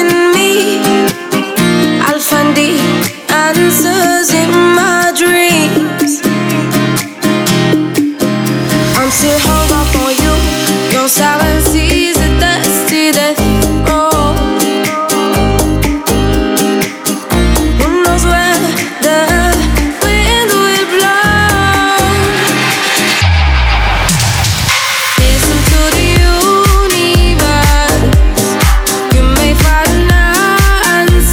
in me. I'll find the answers in my dreams. I'm still hung up on you. Your silence is a dusty death. Oh, who knows where the wind will blow? Listen to the universe. You may find an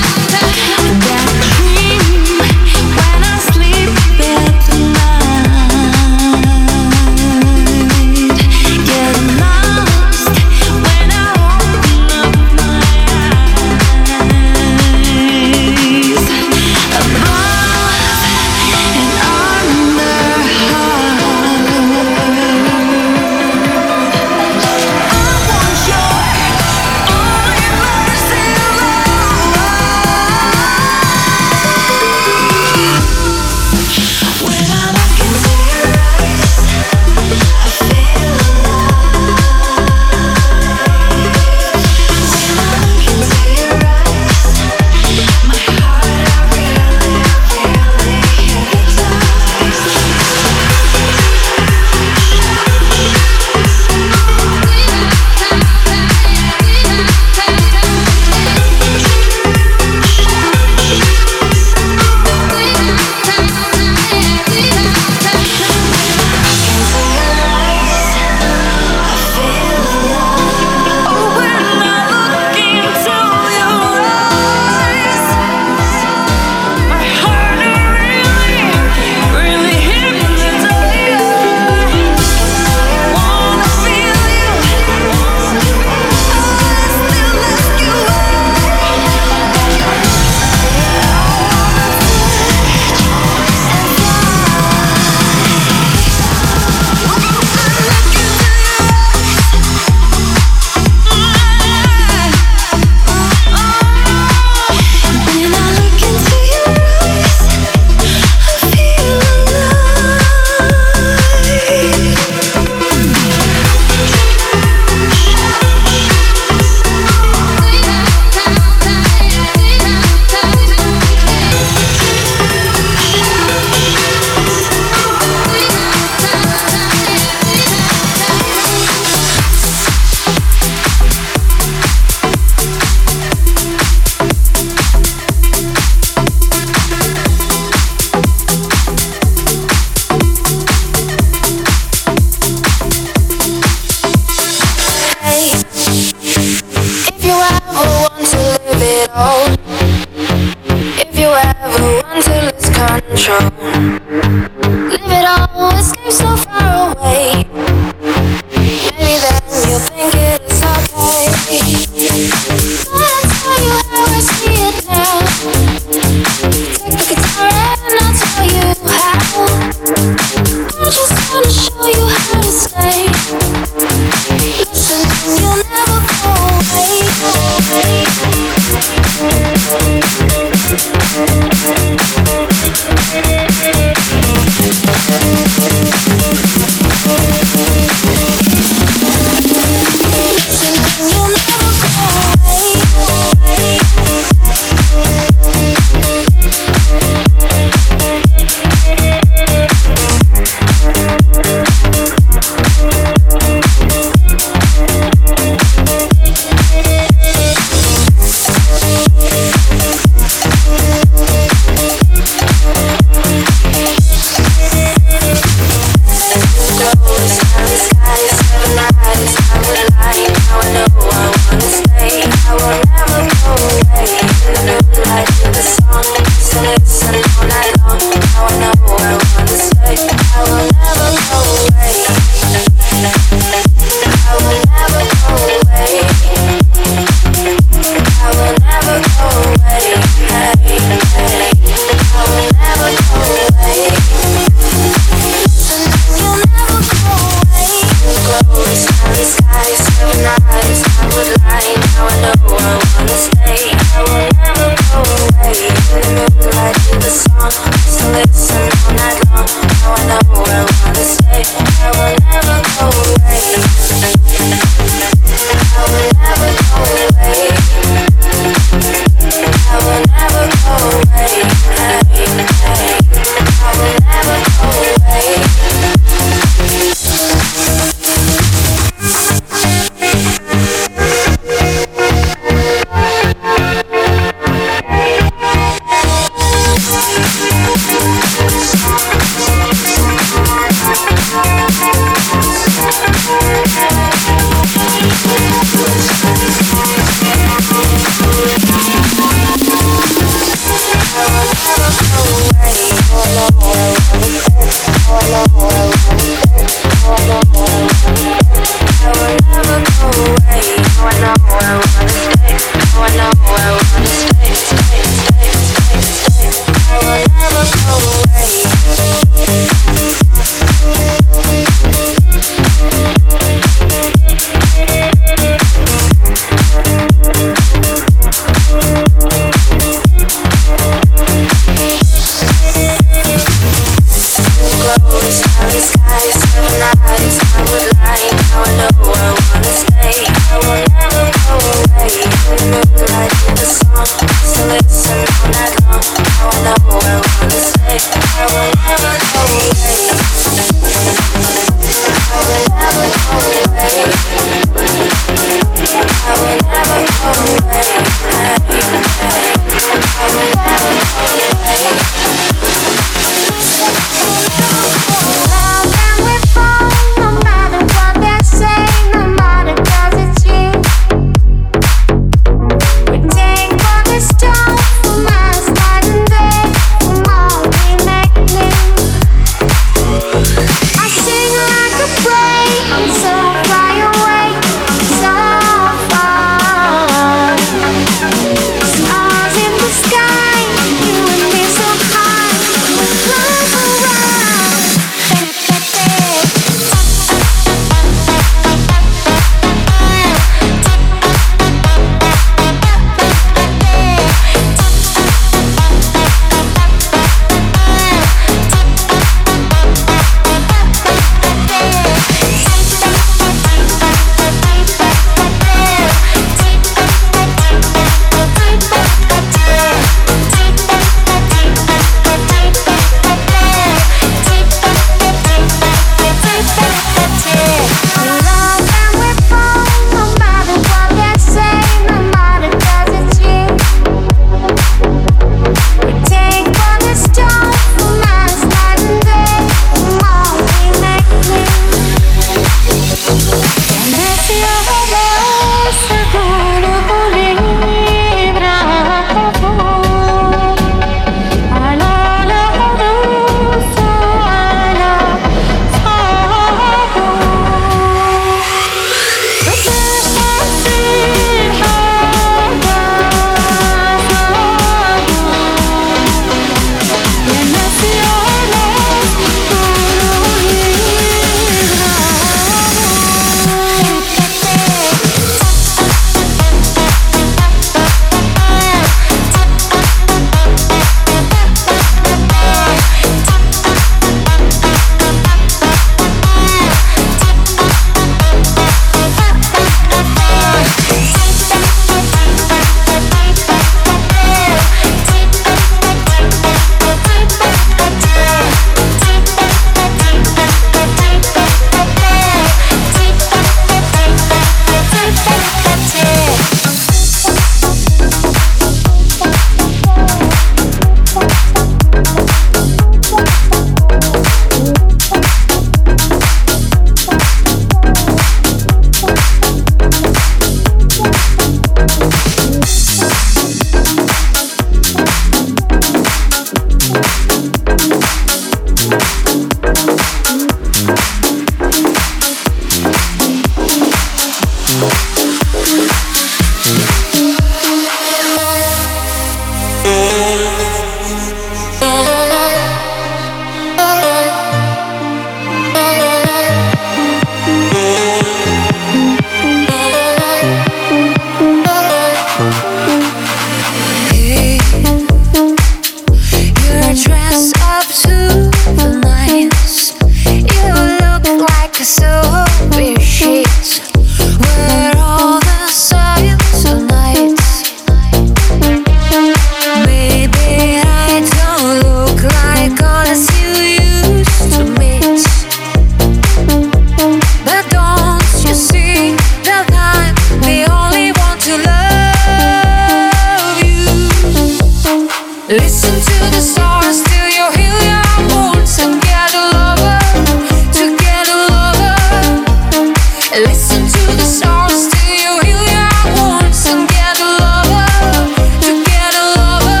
Listen to the stars till you heal your wounds and get a lover, to get a lover. Listen to the stars till you heal your wounds and get a lover, to get a lover.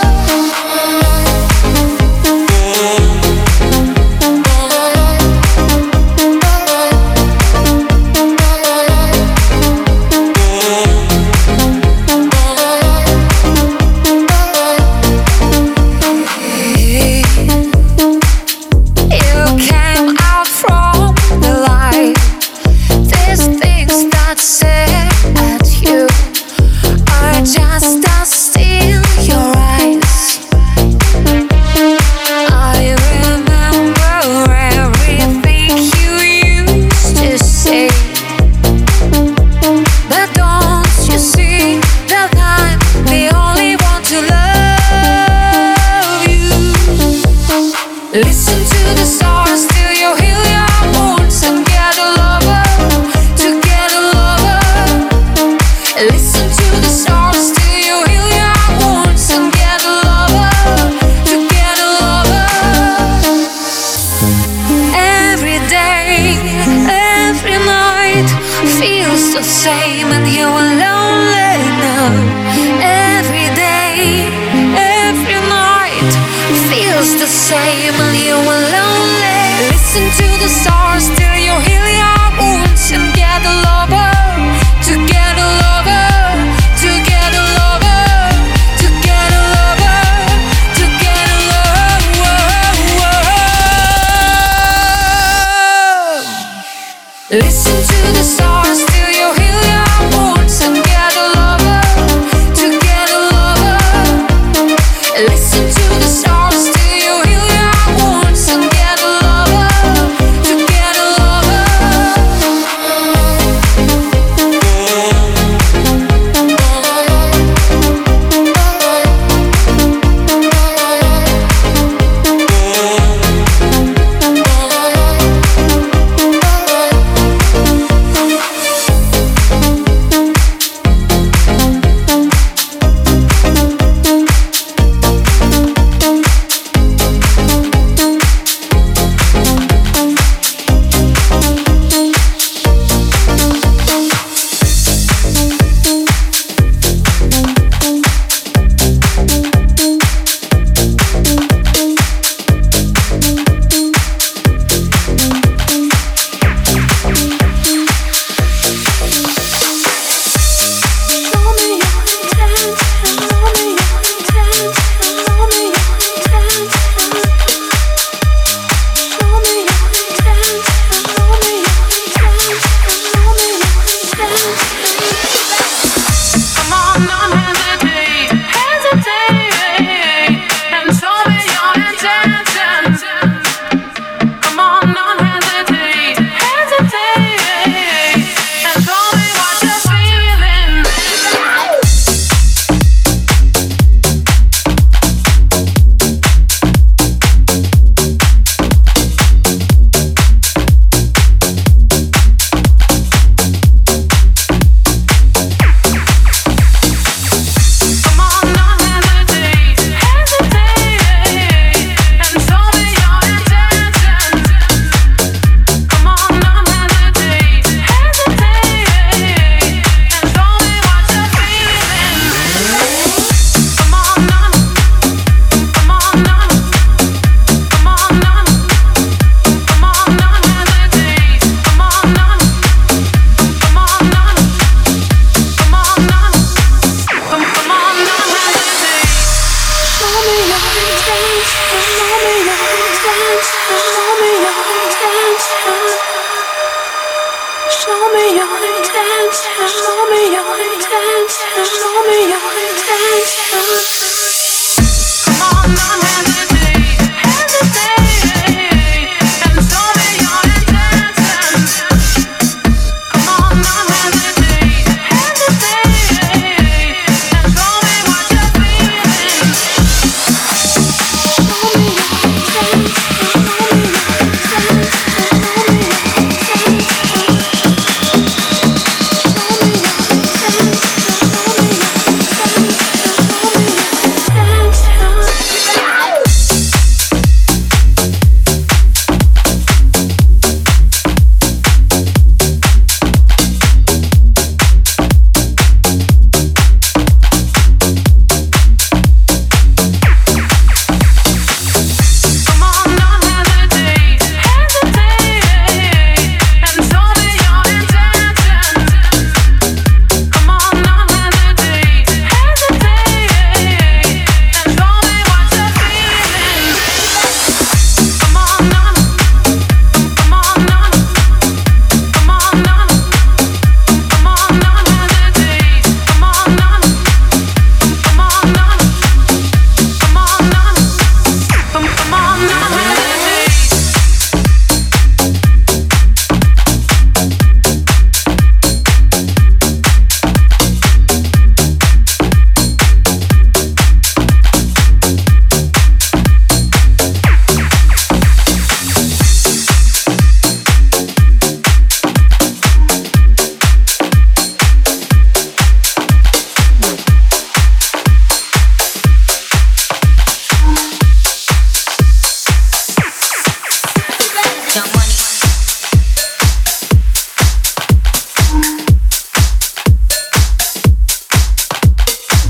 You came out from the light. These things that say at you are just dust in your eyes. I remember everything you used to say, but don't you see that I'm the only one to love you? Listen to the stars till you heal your wounds and get a lover, to get a lover. Listen to the stars till you heal your wounds and get a lover, to get a lover. Every day, every night feels the same and you are lonely now. Every day, every night feels the same and you are lonely. Listen to the stars till you heal your wounds and get a lover, to get a lover, to get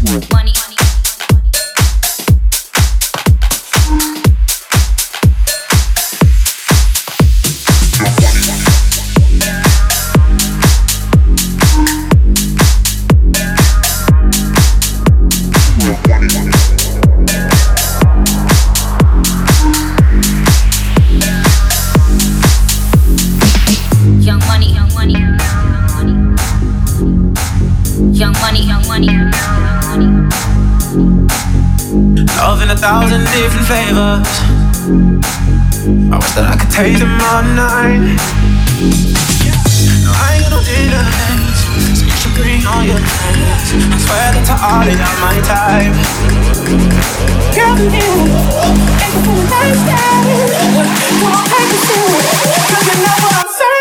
Love in 1,000 different flavors. I wish that I could taste them all night. No, I ain't no dinner dates, so you should bring all your friends. I swear that to all of y'all my type. Girl, you ain't the full lifestyle. Don't take it serious, 'cause you know what I'm serving.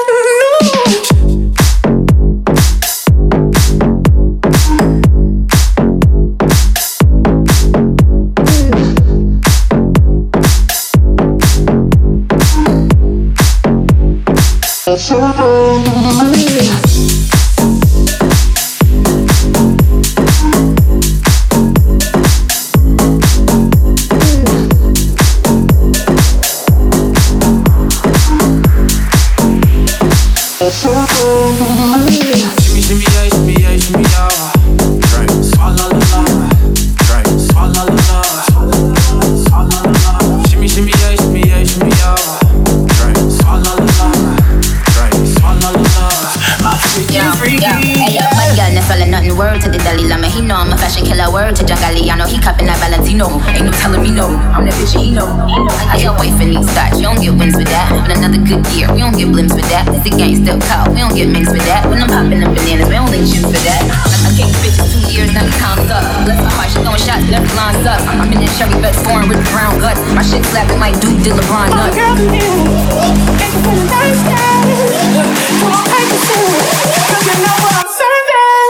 Shimmy, yeah, shimmy, yeah, shimmy, yeah. Drink, swallow la la. Drink, swallow la la. Swallow la la. Shimmy, yeah, shimmy, yeah, shimmy, yeah. Drink, swallow la la. Drink, swallow la la. My freaky. Hey yo, my girl never selling nothing. Word to the Dalai Lama, he know I'm a fashion killer. Word to Jangali, I know he cupping that Valentino. Ain't no telling me no, I'm the bitch he know. I can't wait for these thoughts, you don't get wins with that. But another good year, we don't get blimps with that. It's a gang still call, we don't get mixed with that. When I'm popping them bananas, we don't link shoes for that. I gave bitches 2 years, now the count's up. Bless my heart, she throwing shots, but every line's up. I'm in that cherry red foreign with the brown gut. My shit slapping like Duke did LeBron nuts. Girl, you ain't the full lifestyle. Don't take it serious, 'cause you know what I'm serving.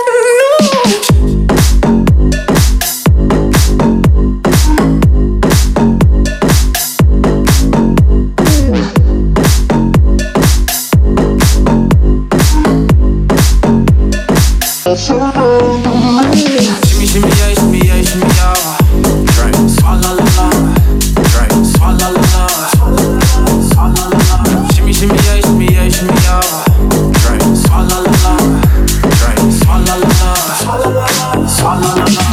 Shimmy, shimmy, yeah, shimmy, yeah, shimmy, yeah. Drink, swallow la la. Drink, swallow la la. Swallow la la. Shimmy, shimmy, yeah, shimmy, yeah, shimmy, yeah. Drink, swallow la la. Drink, swallow la la. Swallow la la. Swallow la la.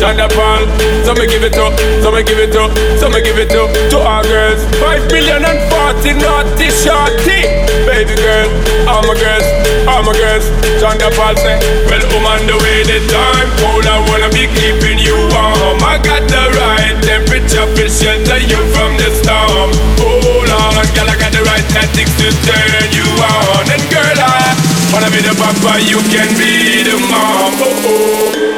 Chanda Paul. So me give it up, so me give it up, so me give it up to our girls. 5,040,000 naughty shorty. Baby girl, all my girls, all my girls. Chanda Paul say, well, on the way the time cold, I wanna be keeping you warm. I got the right temperature to shelter you from the storm. Hold on, girl, I got the right tactics to turn you on. And girl, I wanna be the papa, you can be the mom. Oh, oh.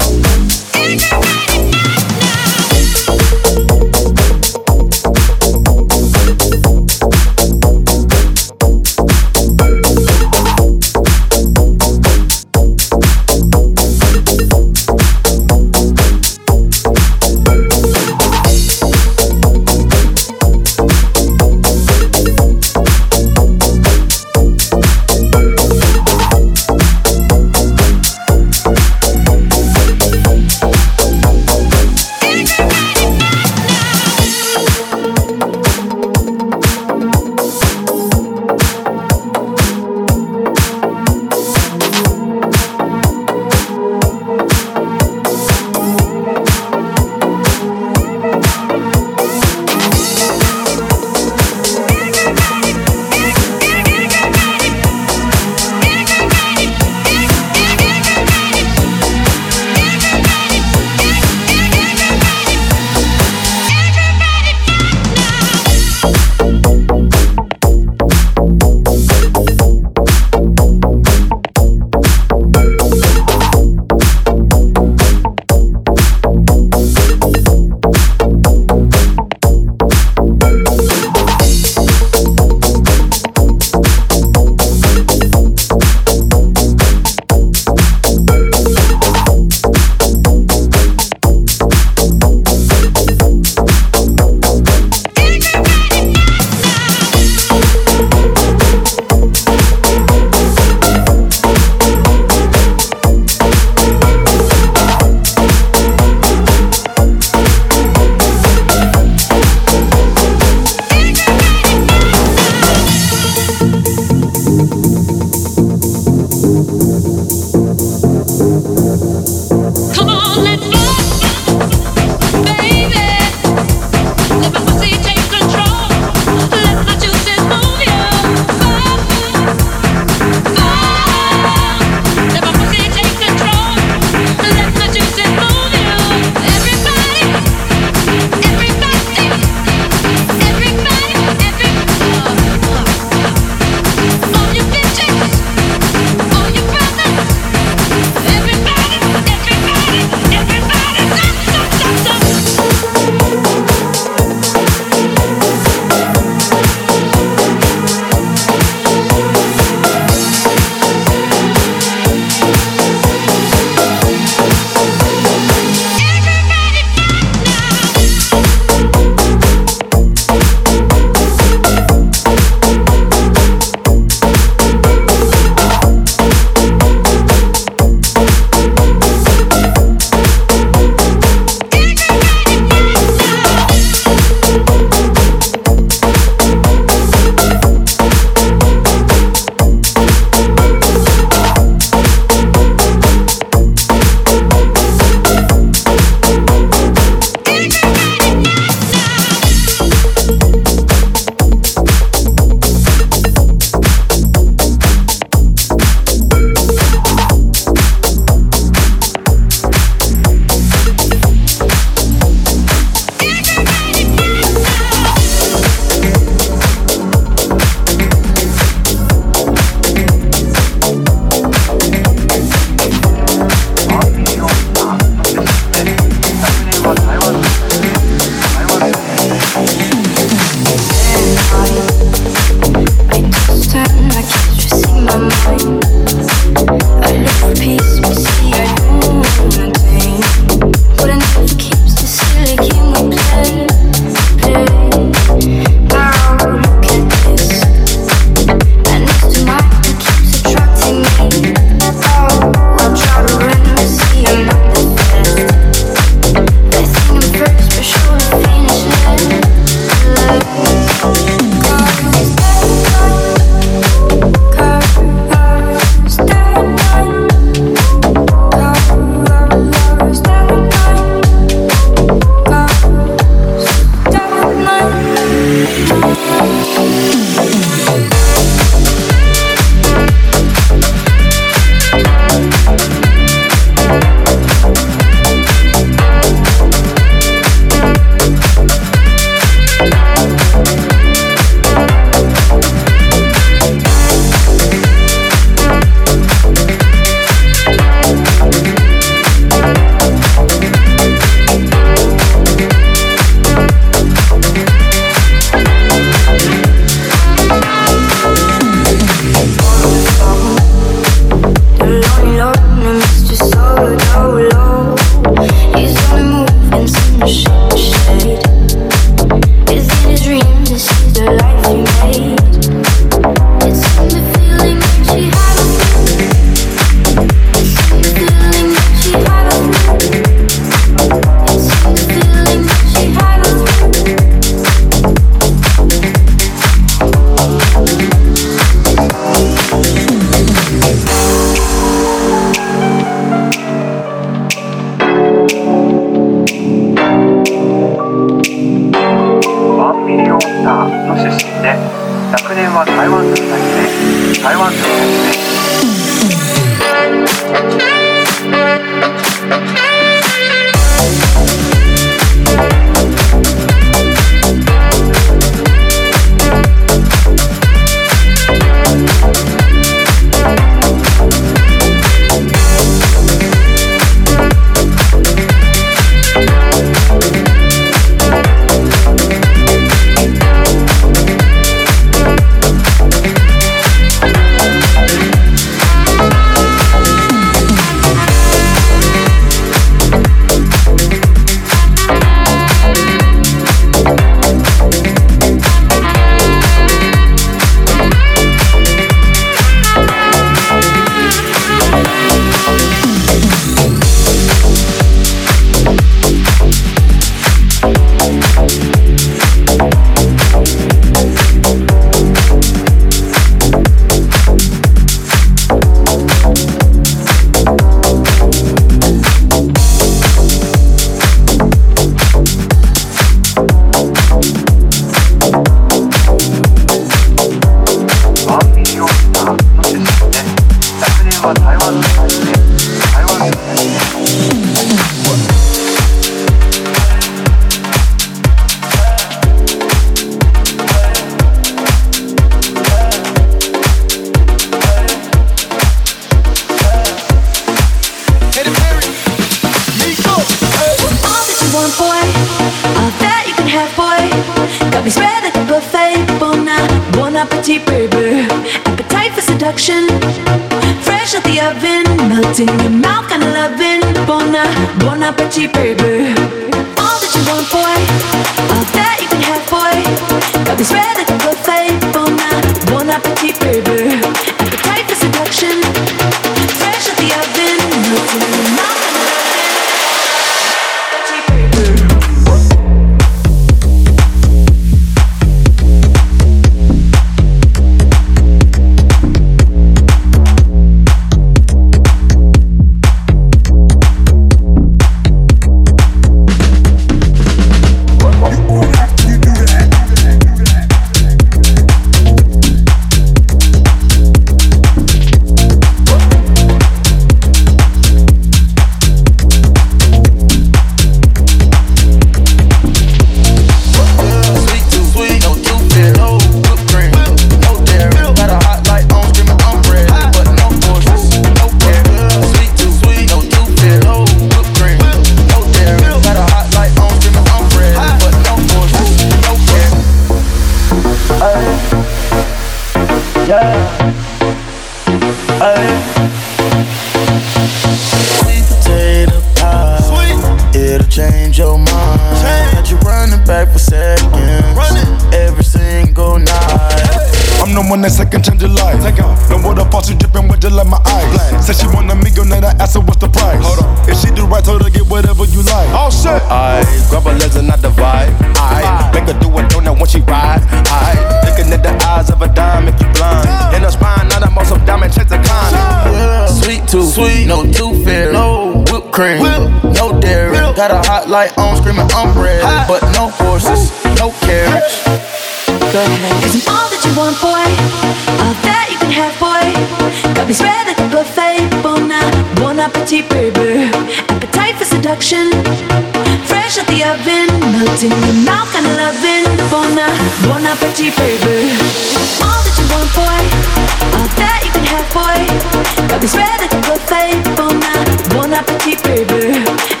Sweet potato pie, it'll change your mind. Got you running back for seconds, every single night. I'm the one that second change your life. No water falls, she dripping with just like my eyes. Said she want a millionaire, I asked her what's the price. Hold on. If she do right, told her get whatever you like. All set. I grab her legs and I divide. I make her do a donut when she ride. I looking at the eyes of a dime, make you blind. In her spine, not a most of diamond chase the kind. Yeah. Sweet tooth, no tooth fairy, no whipped cream, no dairy. Got a hot light on, screaming umbrella, but no horses, no carriage. Isn't all that you want, boy, all that you can have, boy. Got me spread like a buffet. Bon appetit, baby. Appetite for seduction. Fresh out the oven, melting in your mouth, kinda loving. Bon appetit, baby. All that you want, boy, all that you can have, boy. Got me spread like a buffet. Bon appetit, baby.